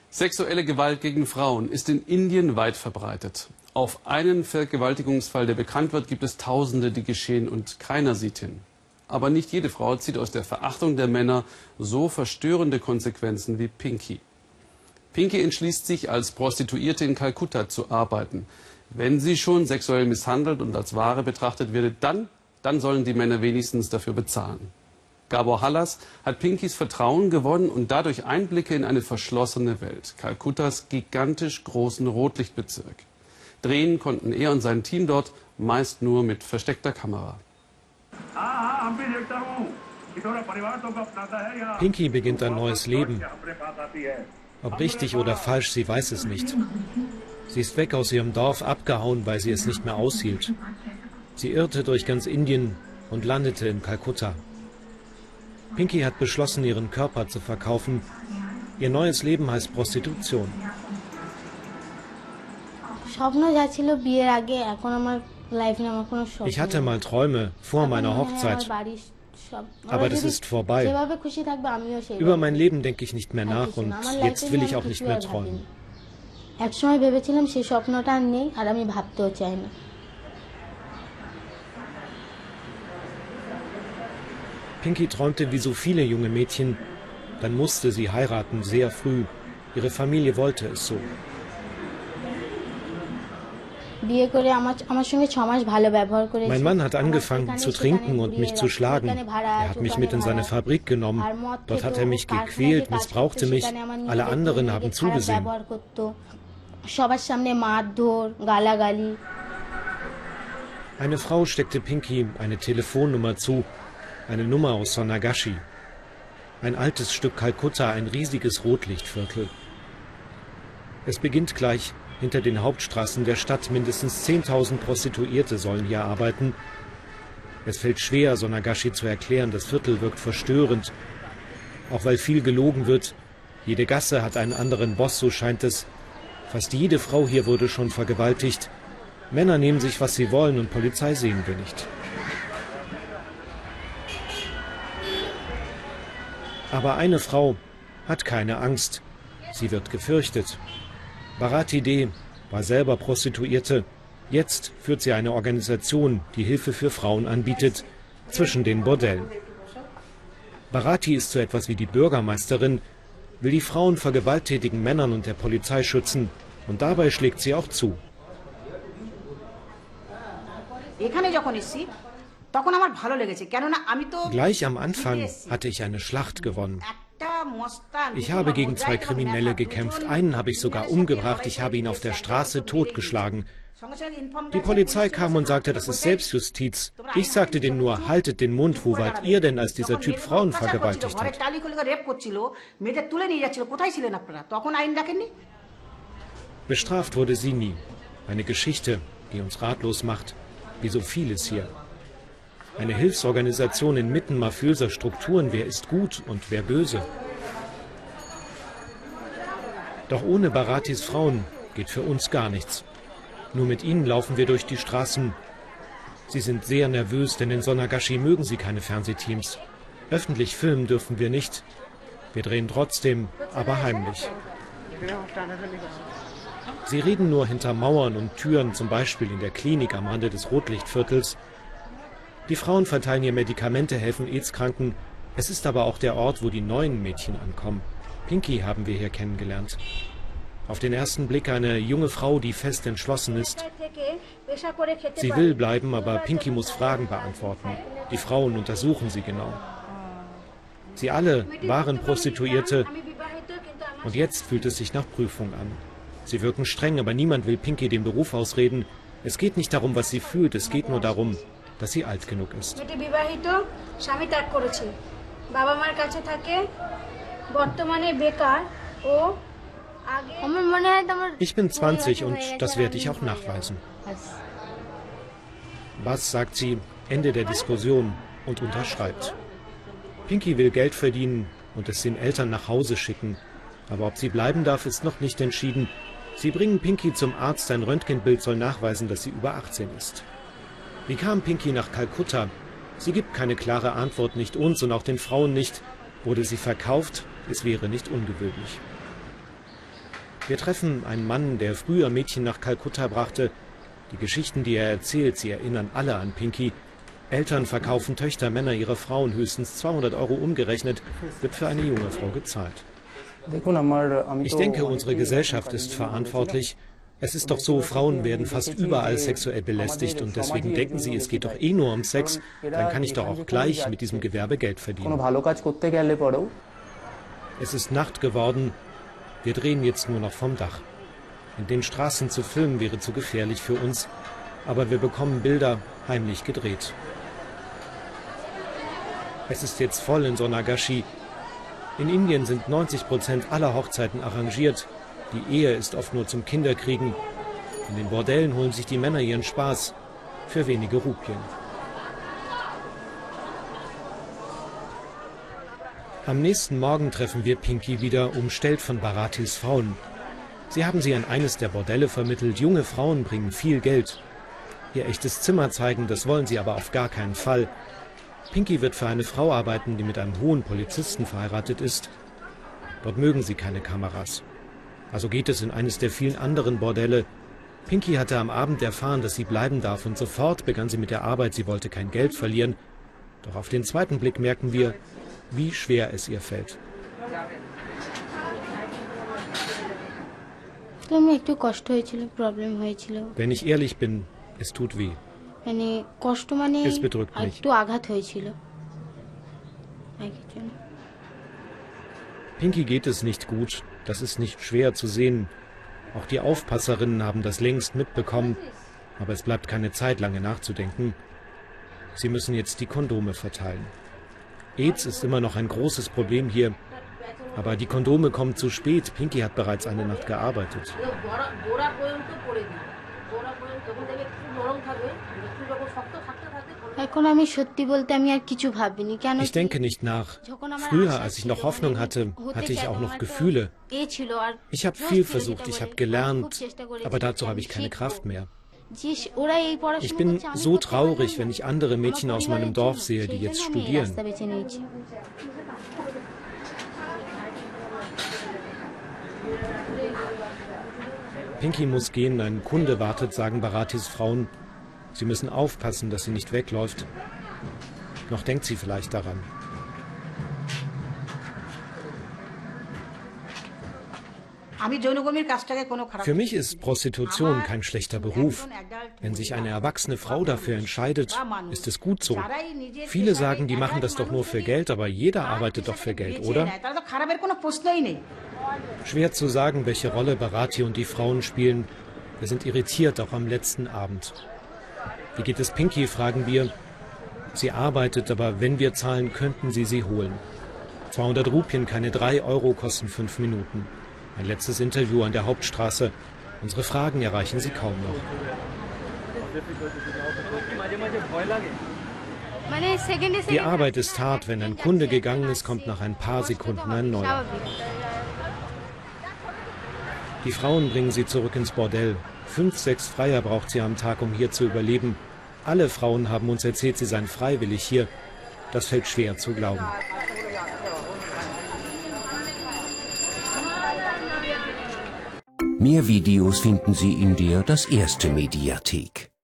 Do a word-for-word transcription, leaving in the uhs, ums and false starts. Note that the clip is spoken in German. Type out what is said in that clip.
Sexuelle Gewalt gegen Frauen ist in Indien weit verbreitet. Auf einen Vergewaltigungsfall, der bekannt wird, gibt es Tausende, die geschehen und keiner sieht hin. Aber nicht jede Frau zieht aus der Verachtung der Männer so verstörende Konsequenzen wie Pinky. Pinky entschließt sich, als Prostituierte in Kalkutta zu arbeiten. Wenn sie schon sexuell misshandelt und als Ware betrachtet wird, dann, dann sollen die Männer wenigstens dafür bezahlen. Gabor Hallas hat Pinkys Vertrauen gewonnen und dadurch Einblicke in eine verschlossene Welt. Kalkuttas gigantisch großen Rotlichtbezirk. Drehen konnten er und sein Team dort meist nur mit versteckter Kamera. Pinky beginnt ein neues Leben. Ob richtig oder falsch, sie weiß es nicht. Sie ist weg aus ihrem Dorf, abgehauen, weil sie es nicht mehr aushielt. Sie irrte durch ganz Indien und landete in Kalkutta. Pinky hat beschlossen, ihren Körper zu verkaufen. Ihr neues Leben heißt Prostitution. Ich hatte mal Träume vor meiner Hochzeit, aber das ist vorbei. Über mein Leben denke ich nicht mehr nach und jetzt will ich auch nicht mehr träumen. Pinky träumte wie so viele junge Mädchen, dann musste sie heiraten, sehr früh. Ihre Familie wollte es so. Mein Mann hat angefangen zu trinken und mich zu schlagen. Er hat mich mit in seine Fabrik genommen. Dort hat er mich gequält, missbrauchte mich. Alle anderen haben zugesehen. Eine Frau steckte Pinky eine Telefonnummer zu, eine Nummer aus Sonagashi. Ein altes Stück Kalkutta, ein riesiges Rotlichtviertel. Es beginnt gleich. Hinter den Hauptstraßen der Stadt mindestens zehntausend Prostituierte sollen hier arbeiten. Es fällt schwer, Sonagashi zu erklären, das Viertel wirkt verstörend. Auch weil viel gelogen wird. Jede Gasse hat einen anderen Boss, so scheint es. Fast jede Frau hier wurde schon vergewaltigt. Männer nehmen sich, was sie wollen, und Polizei sehen wir nicht. Aber eine Frau hat keine Angst. Sie wird gefürchtet. Bharati De war selber Prostituierte. Jetzt führt sie eine Organisation, die Hilfe für Frauen anbietet, zwischen den Bordellen. Bharati ist so etwas wie die Bürgermeisterin, will die Frauen vor gewalttätigen Männern und der Polizei schützen. Und dabei schlägt sie auch zu. Gleich am Anfang hatte ich eine Schlacht gewonnen. Ich habe gegen zwei Kriminelle gekämpft. Einen habe ich sogar umgebracht. Ich habe ihn auf der Straße totgeschlagen. Die Polizei kam und sagte, das ist Selbstjustiz. Ich sagte denen nur, haltet den Mund. Wo wart ihr denn, als dieser Typ Frauen vergewaltigt hat? Bestraft wurde sie nie. Eine Geschichte, die uns ratlos macht, wie so vieles hier. Eine Hilfsorganisation inmitten mafiöser Strukturen. Wer ist gut und wer böse? Doch ohne Bharatis Frauen geht für uns gar nichts. Nur mit ihnen laufen wir durch die Straßen. Sie sind sehr nervös, denn in Sonagashi mögen sie keine Fernsehteams. Öffentlich filmen dürfen wir nicht. Wir drehen trotzdem, aber heimlich. Sie reden nur hinter Mauern und Türen, zum Beispiel in der Klinik am Rande des Rotlichtviertels. Die Frauen verteilen ihr Medikamente, helfen AIDS-Kranken. Es ist aber auch der Ort, wo die neuen Mädchen ankommen. Pinky haben wir hier kennengelernt. Auf den ersten Blick eine junge Frau, die fest entschlossen ist. Sie will bleiben, aber Pinky muss Fragen beantworten. Die Frauen untersuchen sie genau. Sie alle waren Prostituierte und jetzt fühlt es sich nach Prüfung an. Sie wirken streng, aber niemand will Pinky den Beruf ausreden. Es geht nicht darum, was sie fühlt, es geht nur darum, dass sie alt genug ist. Ich bin zwanzig und das werde ich auch nachweisen. Was, sagt sie, Ende der Diskussion und unterschreibt. Pinky will Geld verdienen und es den Eltern nach Hause schicken. Aber ob sie bleiben darf, ist noch nicht entschieden. Sie bringen Pinky zum Arzt, ein Röntgenbild soll nachweisen, dass sie über achtzehn ist. Wie kam Pinky nach Kalkutta? Sie gibt keine klare Antwort, nicht uns und auch den Frauen nicht. Wurde sie verkauft? Es wäre nicht ungewöhnlich. Wir treffen einen Mann, der früher Mädchen nach Kalkutta brachte. Die Geschichten, die er erzählt, sie erinnern alle an Pinky. Eltern verkaufen Töchter, Männer ihre Frauen. Höchstens zweihundert Euro umgerechnet wird für eine junge Frau gezahlt. Ich denke, unsere Gesellschaft ist verantwortlich. Es ist doch so, Frauen werden fast überall sexuell belästigt und deswegen denken sie, es geht doch eh nur um Sex, dann kann ich doch auch gleich mit diesem Gewerbe Geld verdienen. Es ist Nacht geworden, wir drehen jetzt nur noch vom Dach. In den Straßen zu filmen wäre zu gefährlich für uns, aber wir bekommen Bilder heimlich gedreht. Es ist jetzt voll in Sonagashi. In Indien sind neunzig Prozent aller Hochzeiten arrangiert. Die Ehe ist oft nur zum Kinderkriegen. In den Bordellen holen sich die Männer ihren Spaß für wenige Rupien. Am nächsten Morgen treffen wir Pinky wieder, umstellt von Bharatis Frauen. Sie haben sie an eines der Bordelle vermittelt. Junge Frauen bringen viel Geld. Ihr echtes Zimmer zeigen, das wollen sie aber auf gar keinen Fall. Pinky wird für eine Frau arbeiten, die mit einem hohen Polizisten verheiratet ist. Dort mögen sie keine Kameras. Also geht es in eines der vielen anderen Bordelle. Pinky hatte am Abend erfahren, dass sie bleiben darf und sofort begann sie mit der Arbeit. Sie wollte kein Geld verlieren. Doch auf den zweiten Blick merken wir, wie schwer es ihr fällt. Wenn ich ehrlich bin, es tut weh. Es bedrückt mich. Pinky geht es nicht gut. Das ist nicht schwer zu sehen. Auch die Aufpasserinnen haben das längst mitbekommen. Aber es bleibt keine Zeit, lange nachzudenken. Sie müssen jetzt die Kondome verteilen. AIDS ist immer noch ein großes Problem hier. Aber die Kondome kommen zu spät. Pinky hat bereits eine Nacht gearbeitet. Ich denke nicht nach. Früher, als ich noch Hoffnung hatte, hatte ich auch noch Gefühle. Ich habe viel versucht, ich habe gelernt, aber dazu habe ich keine Kraft mehr. Ich bin so traurig, wenn ich andere Mädchen aus meinem Dorf sehe, die jetzt studieren. Pinky muss gehen, ein Kunde wartet, sagen Bharatis Frauen. Sie müssen aufpassen, dass sie nicht wegläuft. Noch denkt sie vielleicht daran. Für mich ist Prostitution kein schlechter Beruf. Wenn sich eine erwachsene Frau dafür entscheidet, ist es gut so. Viele sagen, die machen das doch nur für Geld, aber jeder arbeitet doch für Geld, oder? Schwer zu sagen, welche Rolle Bharati und die Frauen spielen. Wir sind irritiert, auch am letzten Abend. Wie geht es Pinky, fragen wir. Sie arbeitet, aber wenn wir zahlen, könnten sie sie holen. zweihundert Rupien, keine drei Euro, kosten fünf Minuten. Ein letztes Interview an der Hauptstraße. Unsere Fragen erreichen sie kaum noch. Die Arbeit ist hart. Wenn ein Kunde gegangen ist, kommt nach ein paar Sekunden ein neuer. Die Frauen bringen sie zurück ins Bordell. Fünf, sechs Freier braucht sie am Tag, um hier zu überleben. Alle Frauen haben uns erzählt, sie seien freiwillig hier. Das fällt schwer zu glauben. Mehr Videos finden Sie in der Das Erste Mediathek.